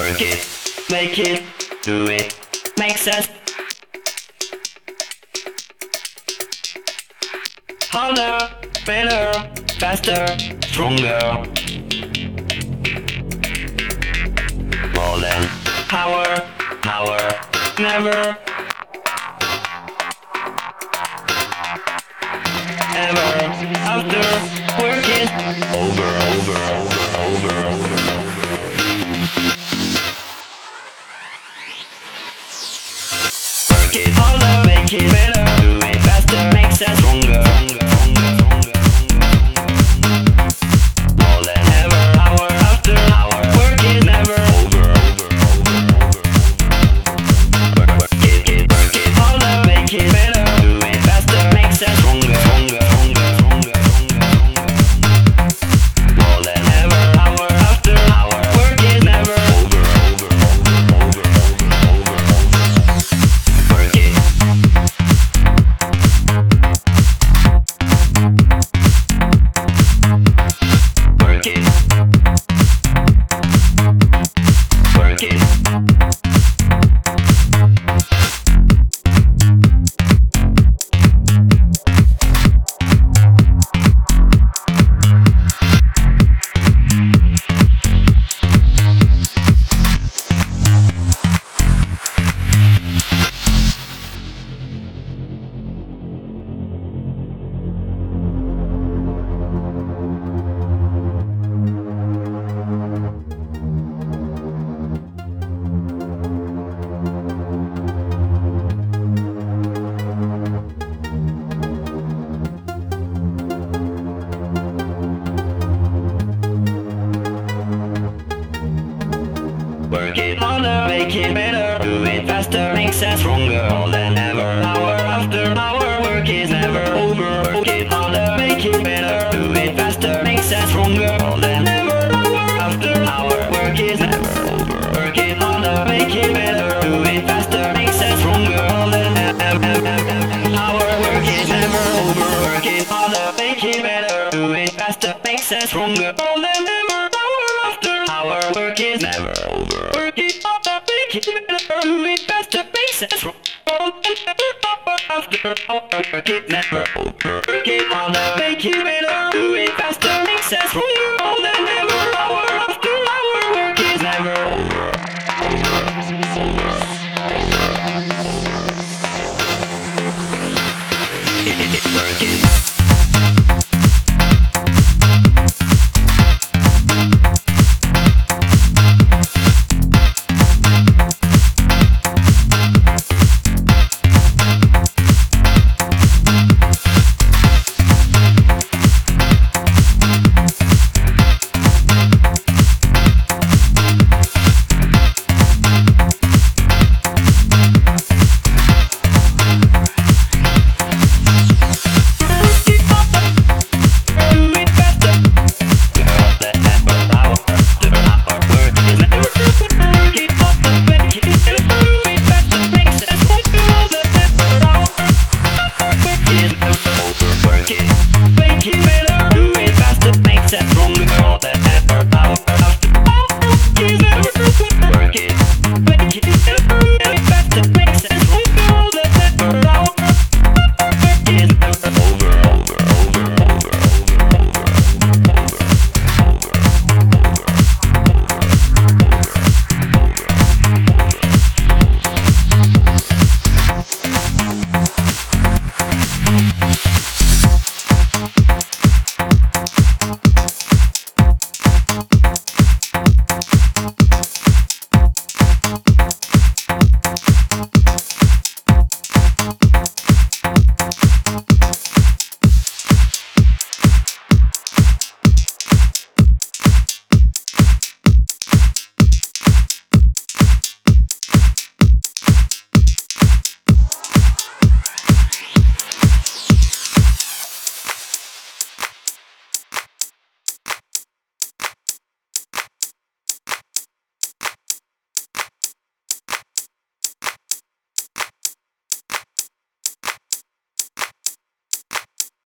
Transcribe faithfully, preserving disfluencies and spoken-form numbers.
Work it, make it, do it, makes us harder, better, faster, stronger. More than power, power, never, ever, after, working, over, over, over, over, over, over. Work it harder, make it better, do it faster, makes us stronger. More than ever, hour after hour, work it never, over, over, over, over. Work, work it, it, work it harder, make it better, do it faster, makes us stronger, stronger, stronger, stronger, stronger. More than ever, hour after hour, work it never, over, over, over, over, over, over. Work it. Work it. Work it. Work it harder, make it better, do it faster, makes us stronger. More than ever, hour after hour, work is never over. Work it harder, make it better, do it faster, makes us stronger. More than ever, hour after hour, work is never over. Work it harder, make it better, do it faster, makes us stronger. More than ever, hour, work is never over. Work it harder, make it better, do it faster, makes us stronger. More than ever, hour after hour, work is never over. Work it harder, make it better, do it faster, makes us stronger. After hour, work it never over. Work it harder, make it better, do it faster, makes us stronger.